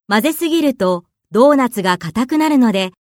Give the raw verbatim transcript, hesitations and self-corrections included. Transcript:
混ぜすぎるとドーナツが硬くなるので、